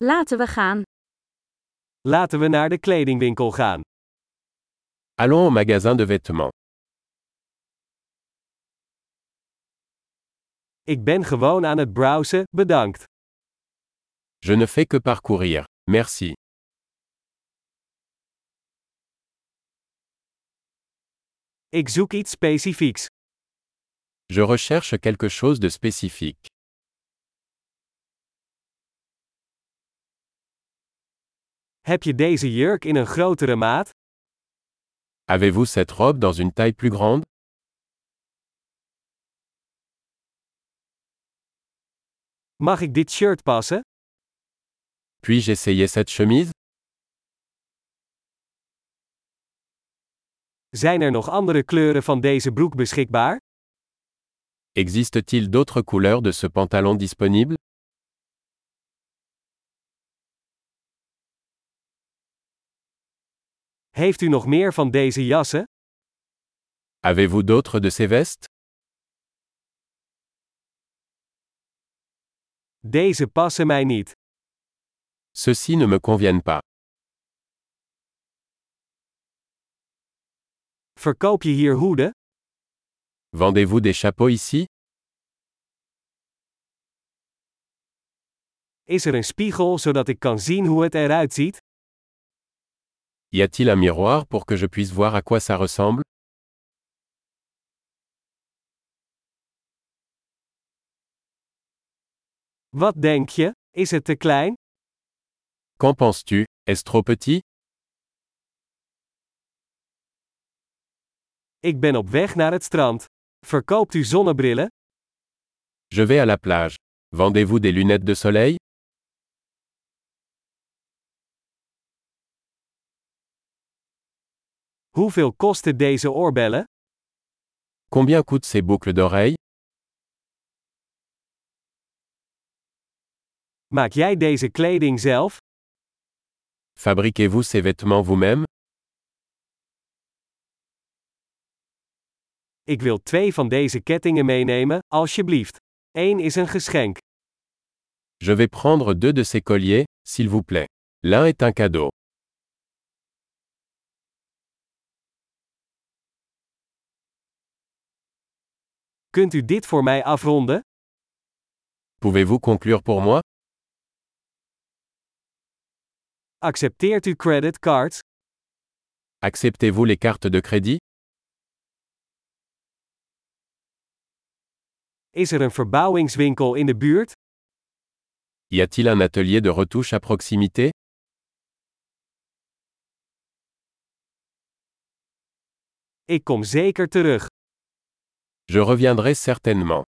Laten we gaan. Laten we naar de kledingwinkel gaan. Allons au magasin de vêtements. Ik ben gewoon aan het browsen, bedankt. Je ne fais que parcourir. Merci. Ik zoek iets specifieks. Je recherche quelque chose de spécifique. Heb je deze jurk in een grotere maat? Avez-vous cette robe dans une taille plus grande? Mag ik dit shirt passen? Puis-je essayer cette chemise? Zijn er nog andere kleuren van deze broek beschikbaar? Existe-t-il d'autres couleurs de ce pantalon disponible? Heeft u nog meer van deze jassen? Avez-vous d'autres de ces vestes? Deze passen mij niet. Ceux-ci ne me conviennent pas. Verkoop je hier hoeden? Vendez-vous des chapeaux ici? Is er een spiegel zodat ik kan zien hoe het eruit ziet? Y a-t-il un miroir pour que je puisse voir à quoi ça ressemble? Wat denk je? Is het te klein? Qu'en penses-tu? Est-ce trop petit? Ik ben op weg naar het strand. Verkoopt u zonnebrillen? Je vais à la plage. Vendez-vous des lunettes de soleil? Hoeveel kosten deze oorbellen? Combien coûtent ces boucles d'oreilles? Maak jij deze kleding zelf? Fabriquez-vous ces vêtements vous-même? Ik wil 2 van deze kettingen meenemen, alsjeblieft. 1 is een geschenk. Je vais prendre 2 de ces colliers, s'il vous plaît. L'un est un cadeau. Kunt u dit voor mij afronden? Pouvez-vous conclure pour moi? Accepteert u creditcards? Acceptez-vous les cartes de crédit? Is er een verbouwingswinkel in de buurt? Y a-t-il un atelier de retouche à proximité? Ik kom zeker terug. Je reviendrai certainement.